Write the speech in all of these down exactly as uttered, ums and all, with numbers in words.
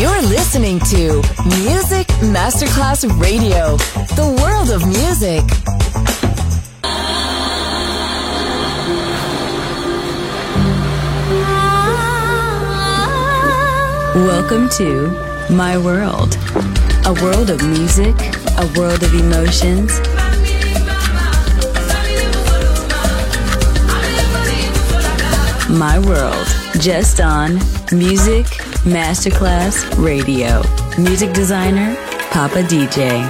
You're listening to Music Masterclass Radio, the world of music. Welcome to My World, a world of music, a world of emotions. My World, just on Music Masterclass Radio. Music designer, Papa D J.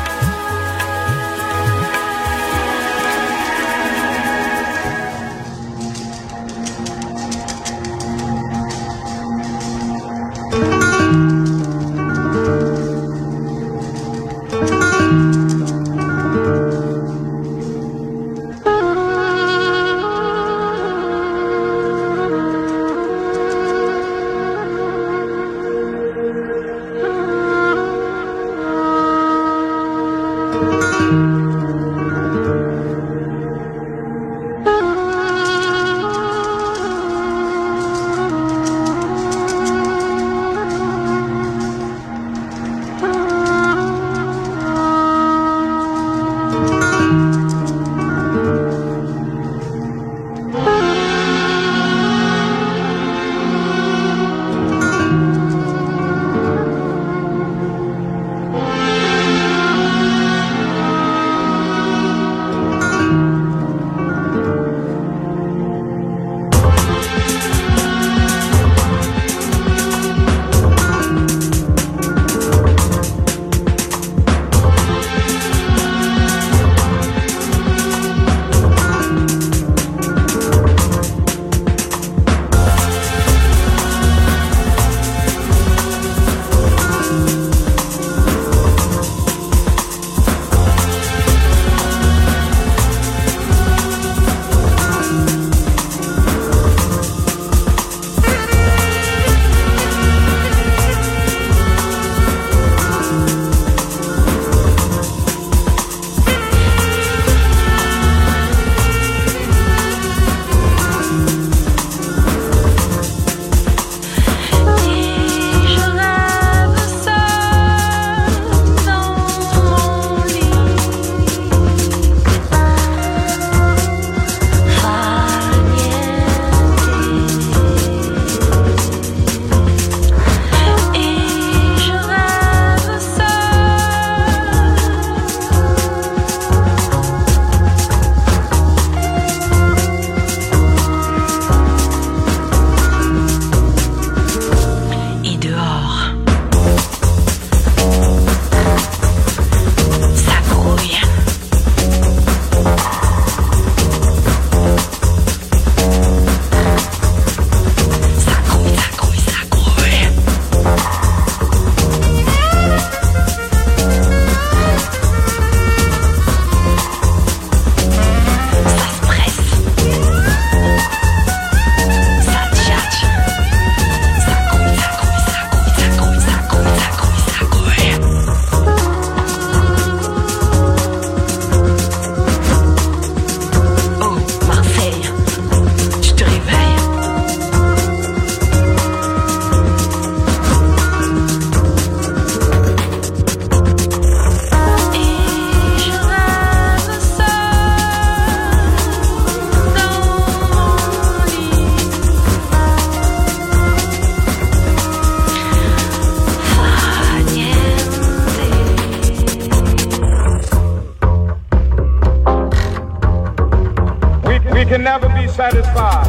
can never be satisfied.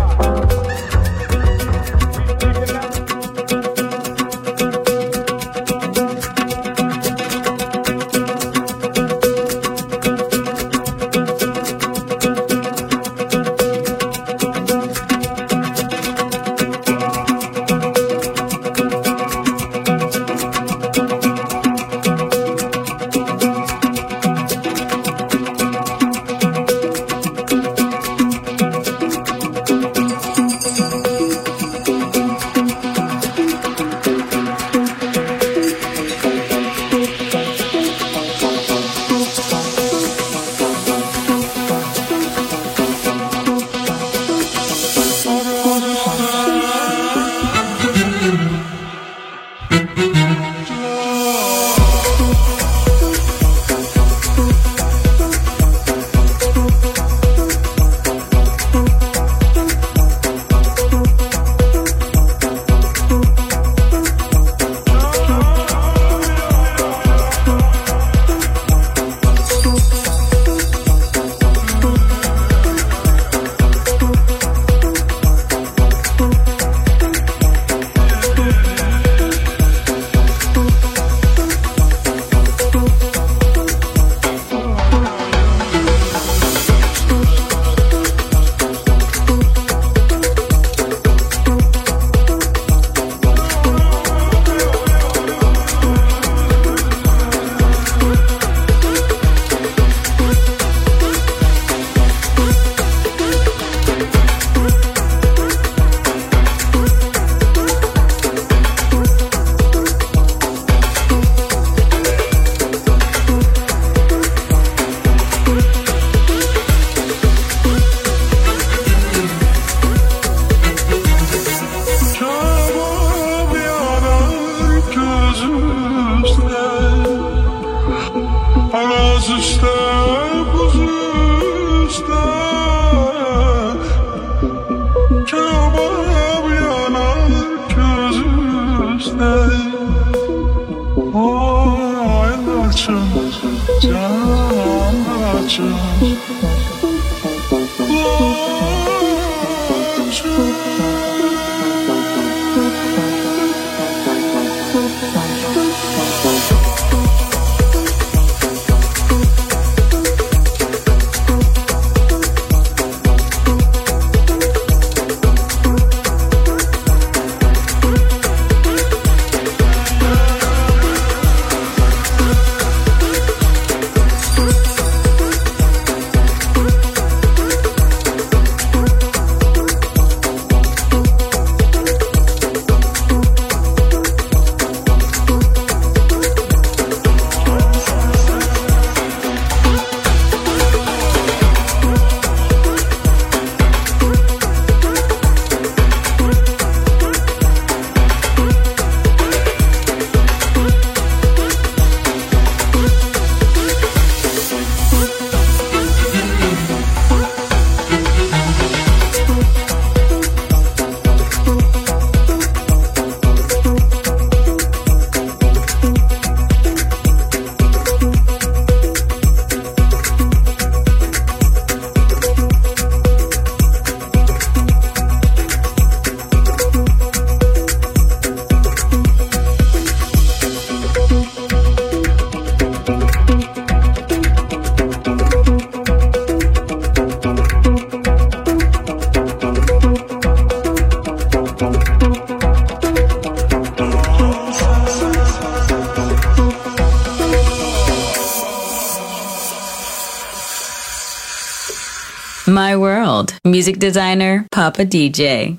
My World, music designer Papa D J.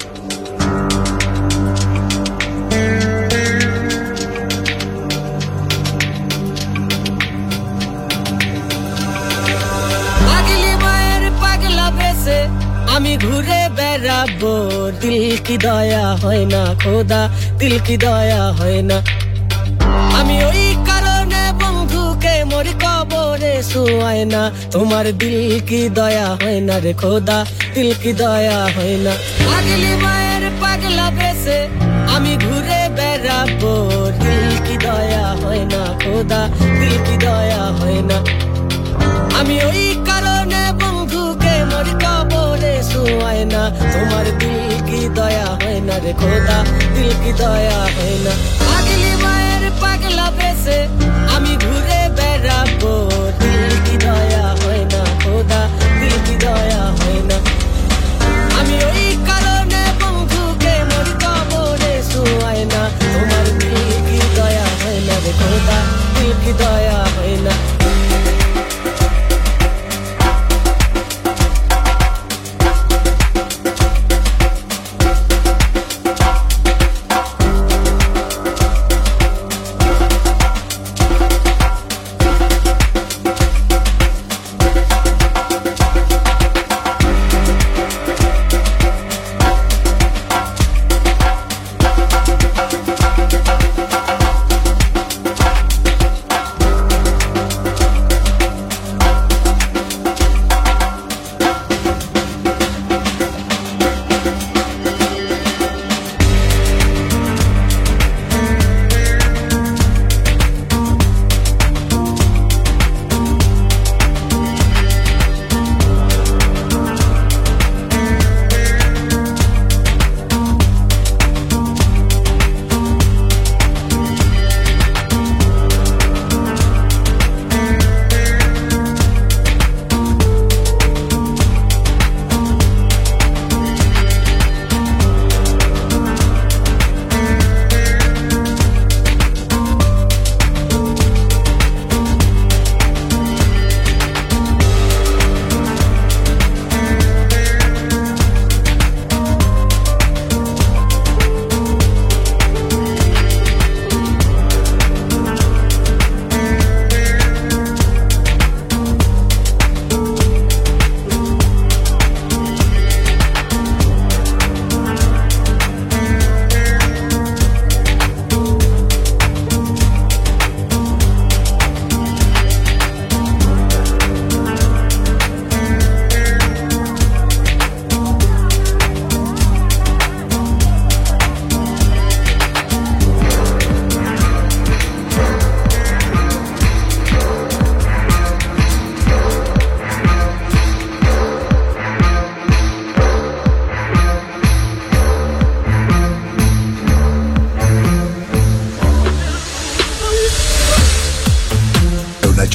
আমি ঘুরে বেড়াবো দিল কি দয়া হয় না খোদা দিল কি দয়া হয় না আমি ওই কারণে বন্ধুকে মরি কবরে শুয়াই না তোমার দিল কি দয়া হয় না রে খোদা দিল কি দয়া হয় না পাগলি মায়ের পাগলা বেশে আমি ঘুরে বেড়াবো দিল কি দয়া হয় না খোদা দিল কি দয়া হয় না আমি ওই কারণে বন্ধুকে মরি কবরে শুয়াই না তোমার দিল কি দয়া হয় না রে খোদা দিল কি দয়া হয় না পাগলি মায়ের পাগলা বেশে আমি ঘুরে বেড়াবো দিল কি দয়া হয় না খোদা দিল কি দয়া হয় না আমি ওই কারণে বন্ধুকে মরি কবরে শুয়াই না তোমার দিল কি দয়া হয় না রে খোদা দিল কি দয়া হয় না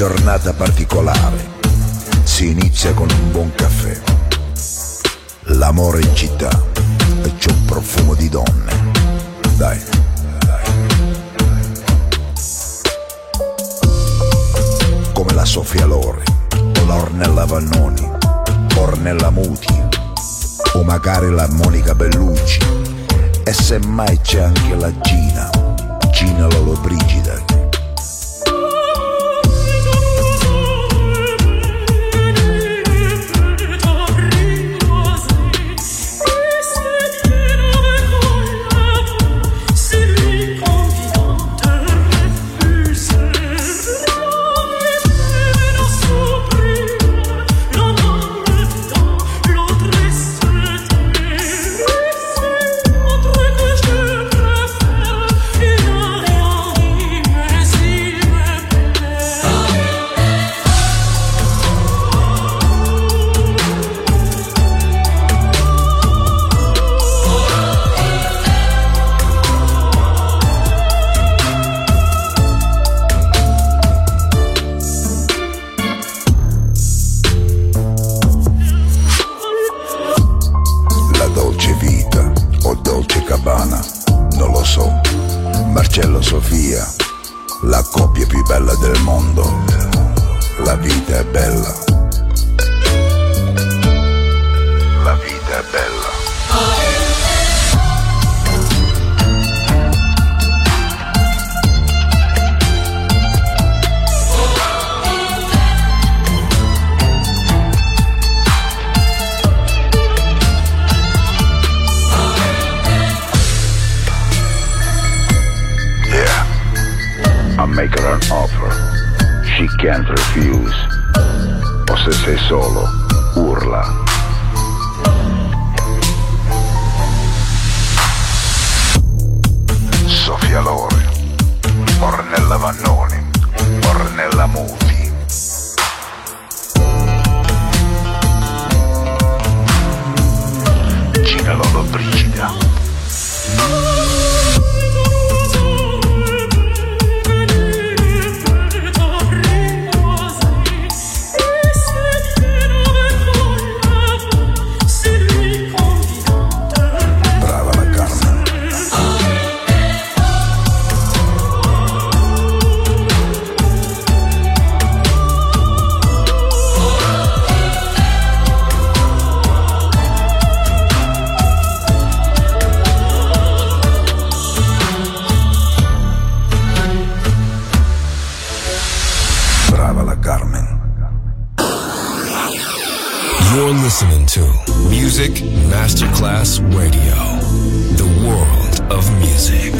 giornata particolare si inizia con un buon caffè. L'amore in città e c'è un profumo di donne. Dai, dai. Come la Sofia Loren o la Ornella Vannoni, Ornella Muti o magari la Monica Bellucci. E semmai c'è anche la Gina, Gina Lollobrigida. Marcello Sofia, la coppia più bella del mondo. La vita è bella. La vita è bella. Make her an offer, she can't refuse. O se sei solo, urla. Sofia Loren, Ornella Vannoni, Ornella Muti. Gina Lollobrigida. You're listening to Music Masterclass Radio, the world of music.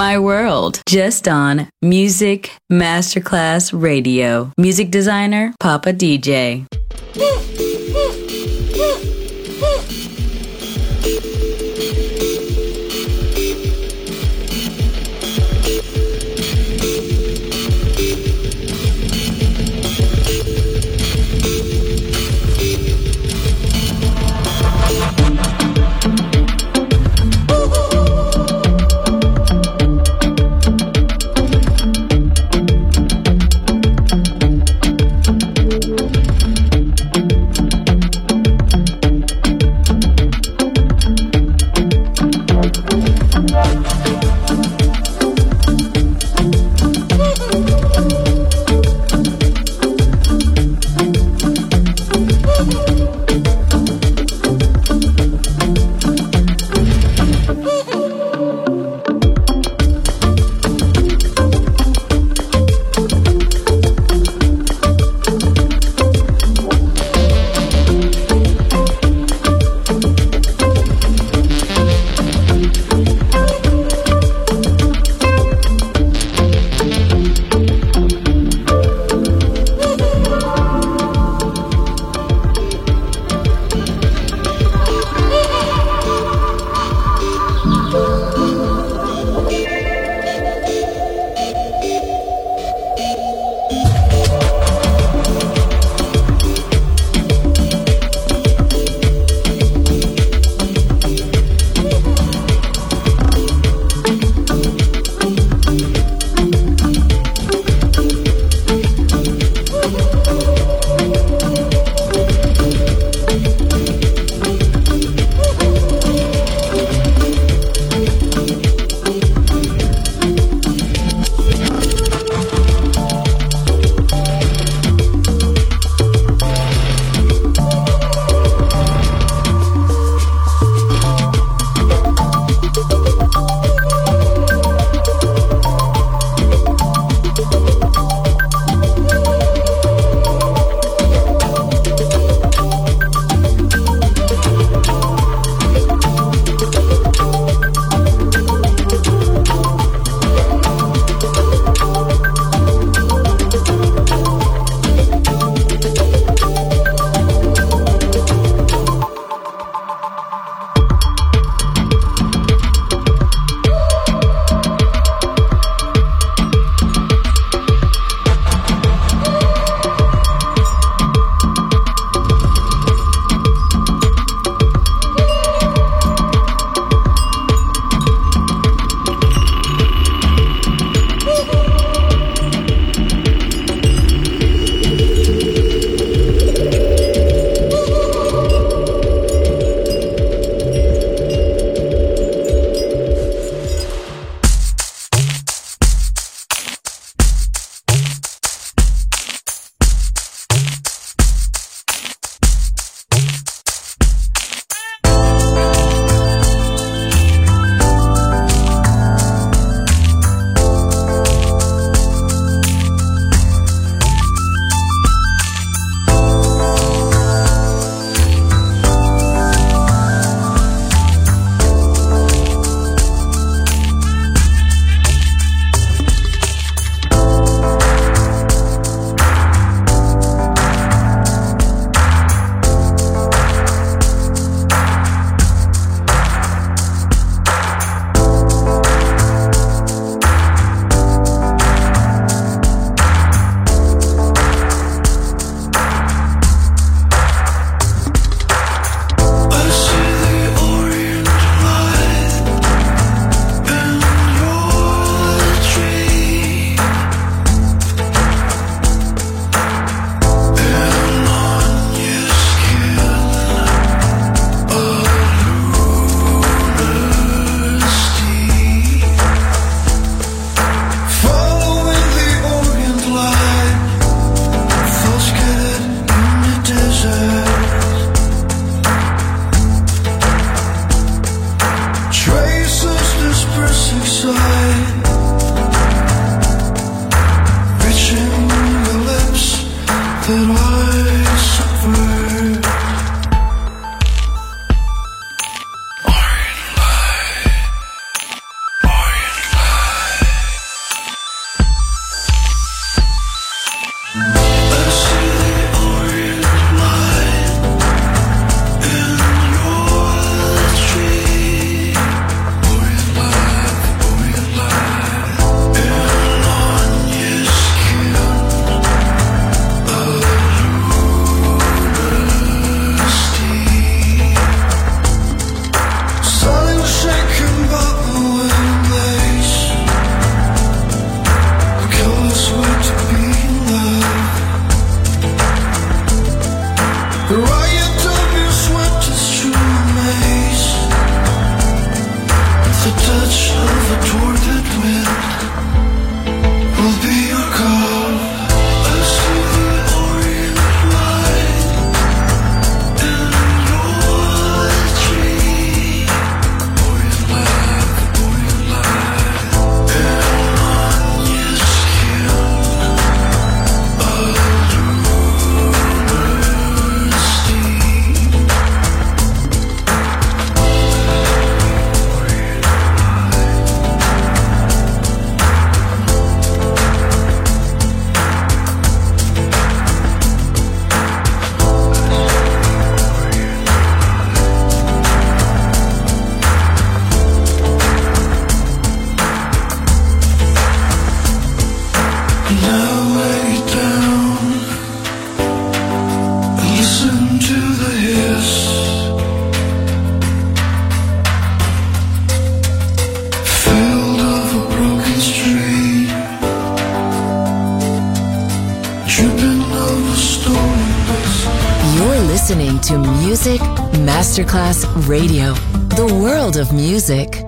My World, just on Music Masterclass Radio. Music designer, Papa D J. Listening to Music Masterclass Radio, the world of music.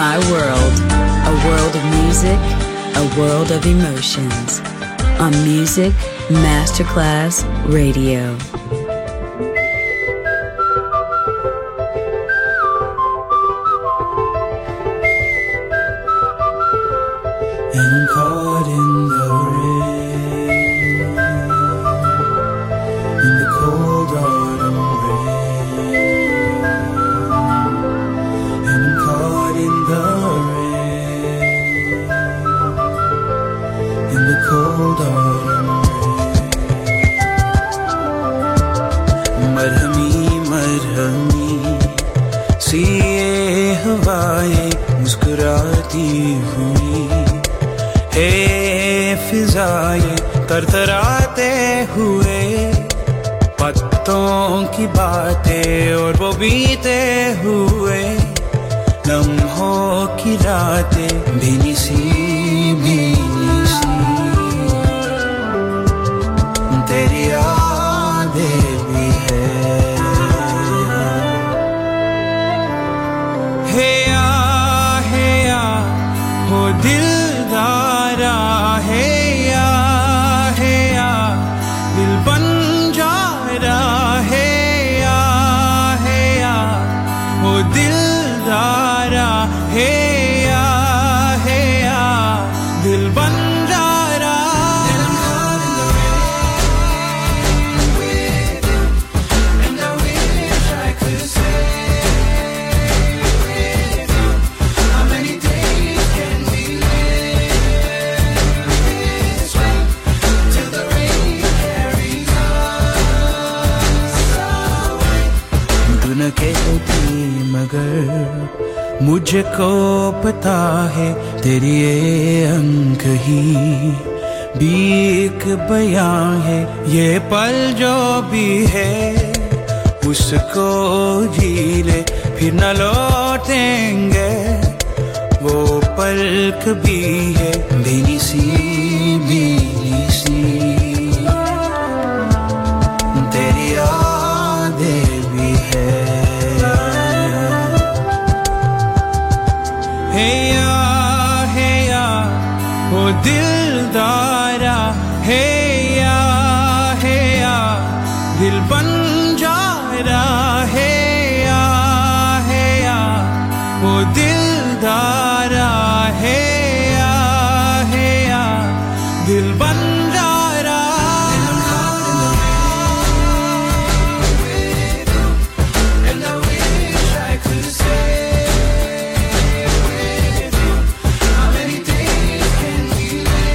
My World, a world of music, a world of emotions. On Music Masterclass Radio. And I'm caught in the rain, in the cold autumn rain. And I'm caught in the rain, in the cold autumn rain. Marhami, marhami, सी ये हवाएं मुस्कुराती हुई, हे फिजाएं तरतराते हुए, पत्तों की बातें और वो बीते हुए, लम्हों की रातें भीनी सी भीनी सी, तेरी यादें भी है। हे या हे या हो दिलदारा, हे या हे या दिल बन जा रहा, हे या हे या हो दिलदारा, हे या हे या दिल बन जा रहा। And I wish I could stay with you. How many days can we live this way till the rain carries us away? तू न कहती मगर मुझको पता है, तेरी ये अंक ही भी एक बयां है। ये पल जो भी है उसको जी ले, फिर न लौटेंगे वो पल कभी है। भीनी सी भीनी सी तेरी यादें भी है। हे या हे या हो दिलदारा, हे या हे या दिल बन जा रहा, हे या हे या हो दिलदारा, हे या हे या दिल बन जा रहा। And I wish I could stay with you. How many days can we live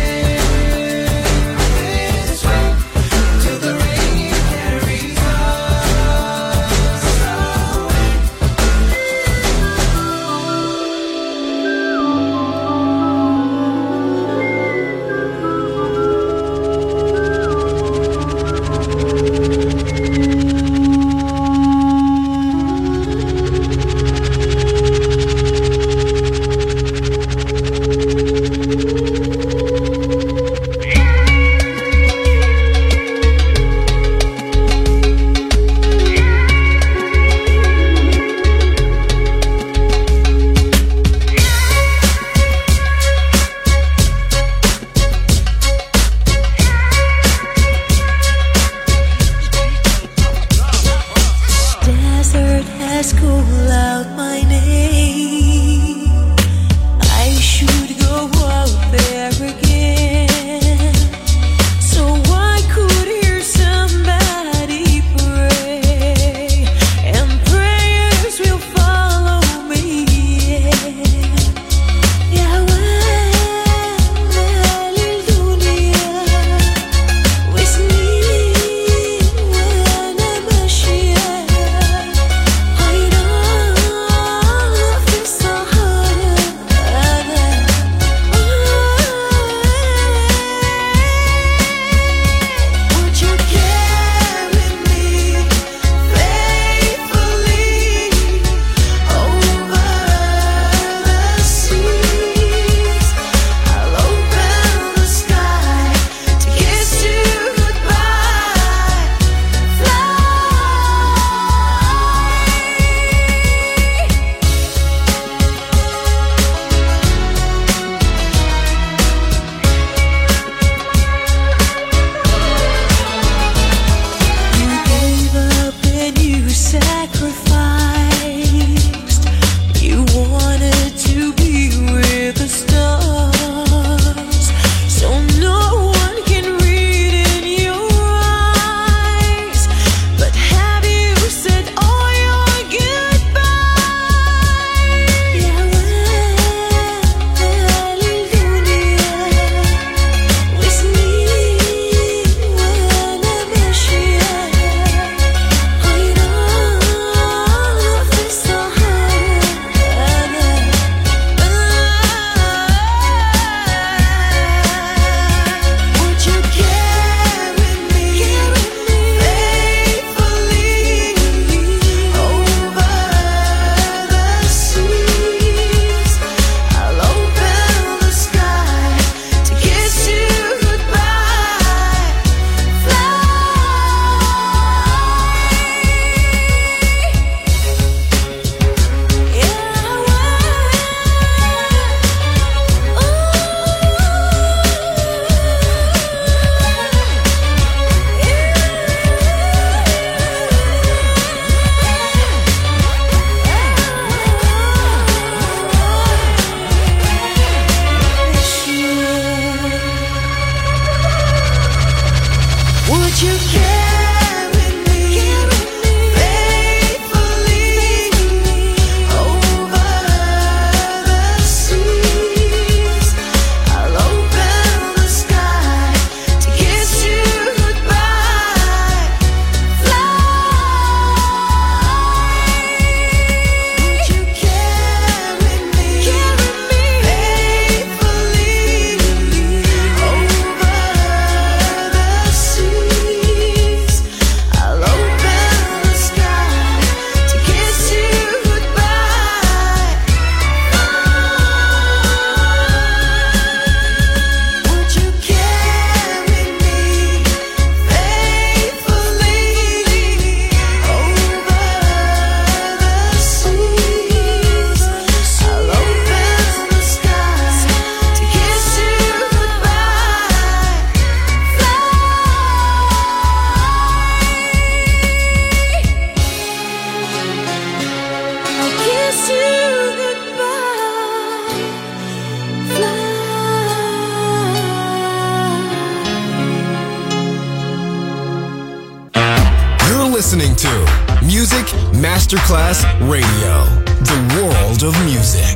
listening to Music Masterclass Radio, the world of music.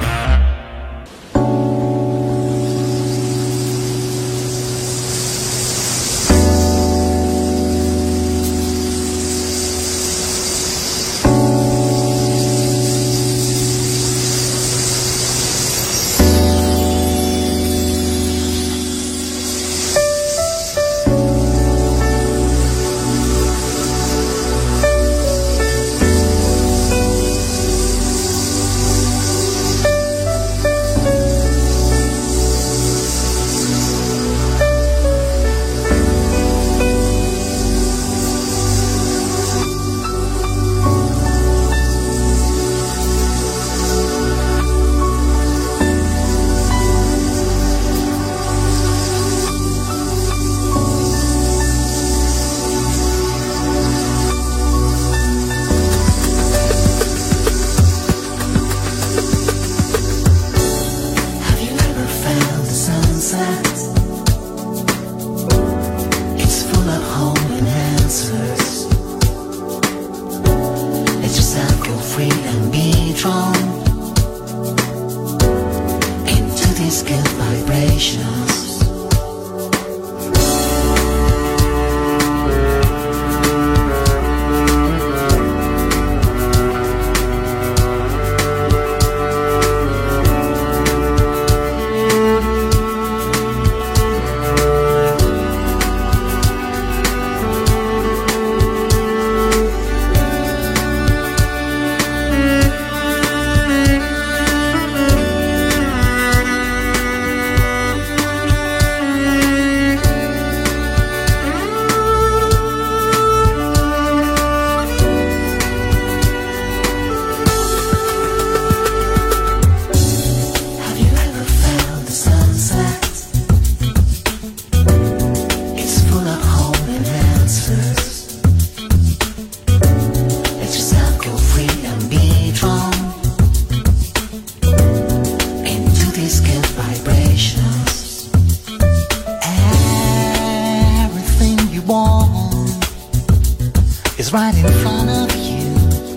Right in front of you.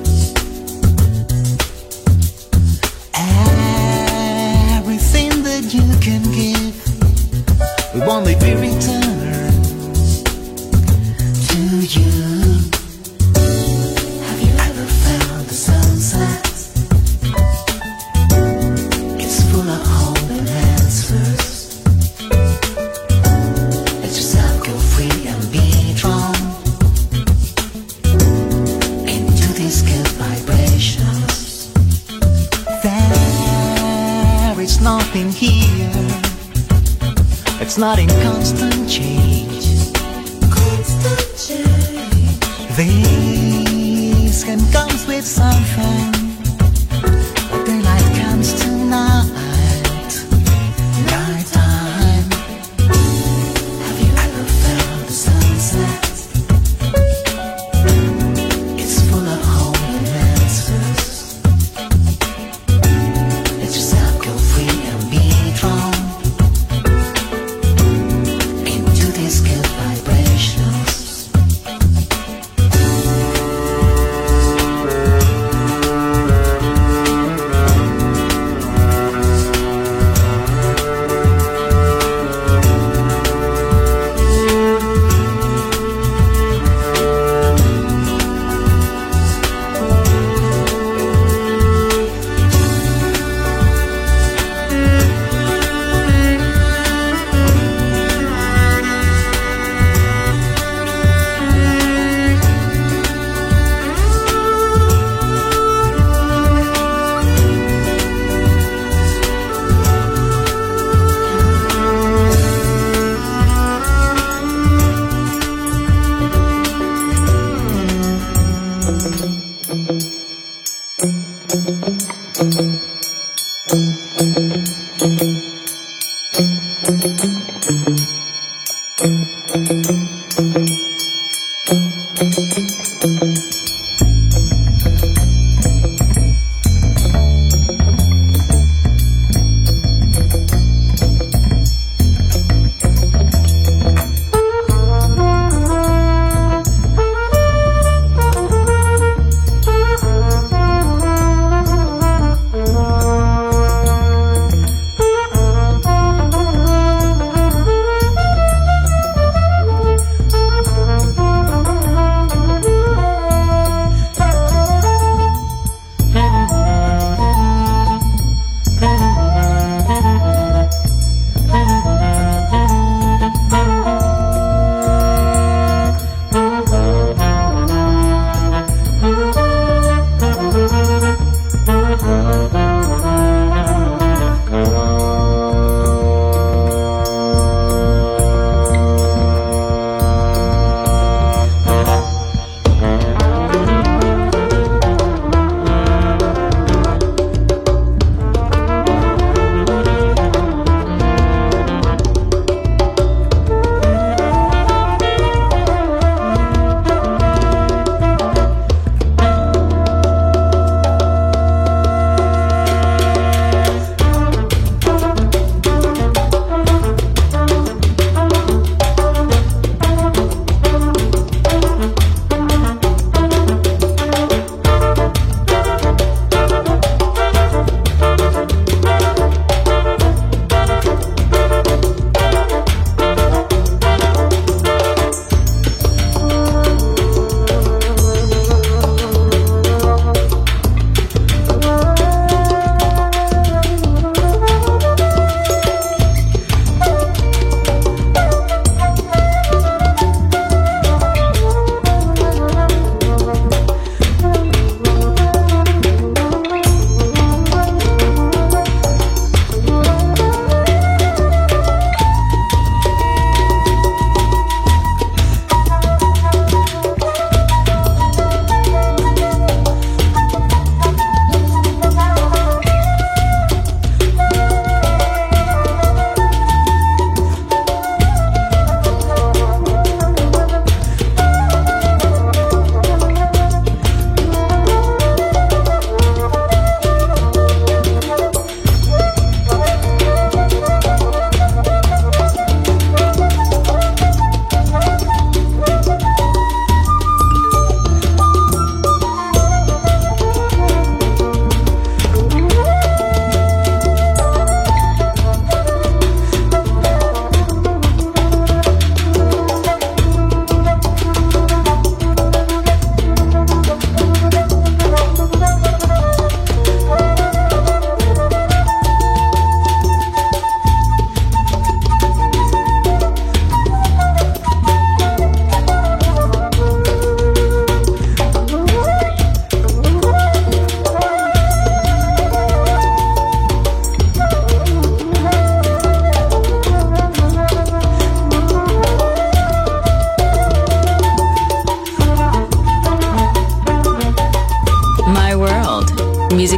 Everything that you can give will only be returned to you. Have you ever felt the sunset? It's full of hope and answers. Let yourself go free and be drawn. Nothing here, it's not in constant change. Constant change. This can comes with something, but daylight comes tonight. Night time. Have you ever felt the sunset? It's full of hope and answers.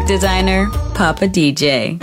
Music designer, Papa D J.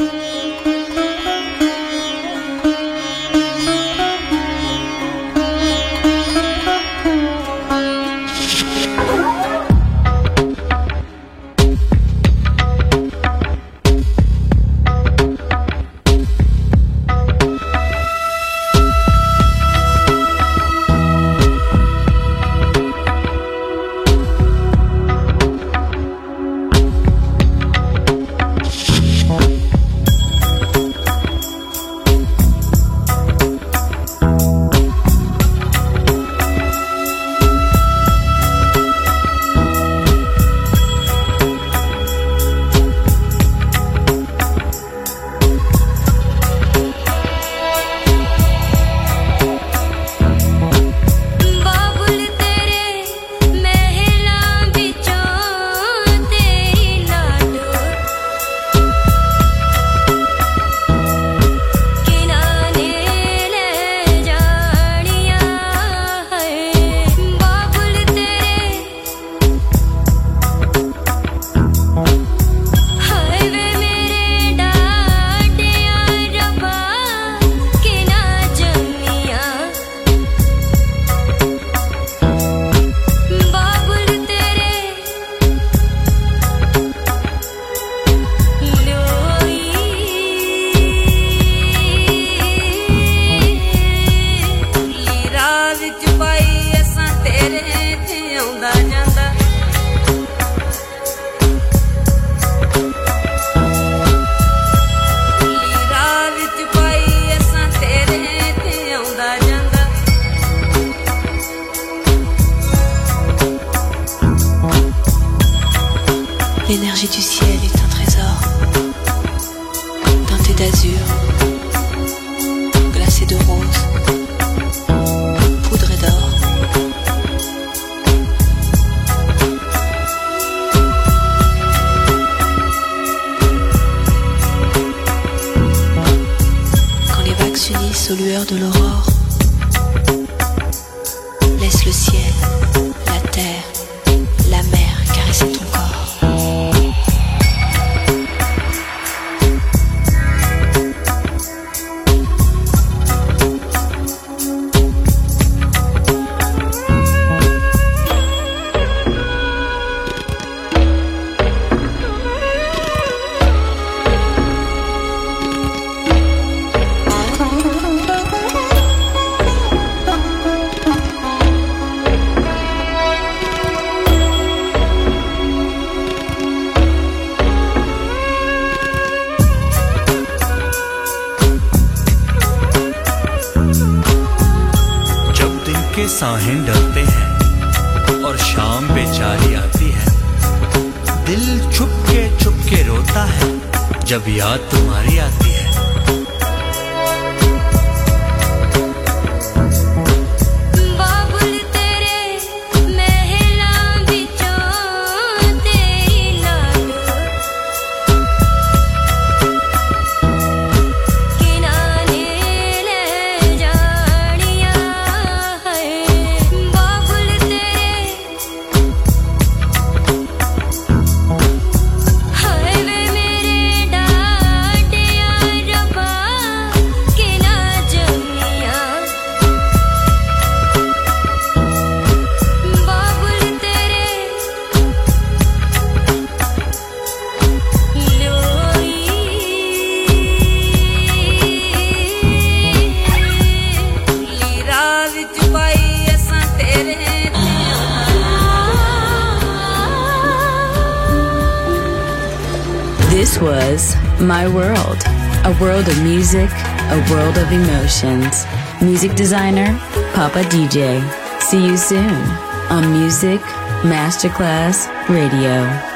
L'énergie du ciel est un trésor, teinté d'azur, glacé de rose, poudré d'or. Quand les vagues s'unissent aux lueurs de l'aurore, laisse le ciel, la terre, la mer caresser ton corps. साहें डरते हैं और शाम बेचारी आती है, दिल छुप के छुप के रोता है जब याद तुम्हारी आती है। This was My World, a world of music, a world of emotions. Music designer, Papa D J. See you soon on Music Masterclass Radio.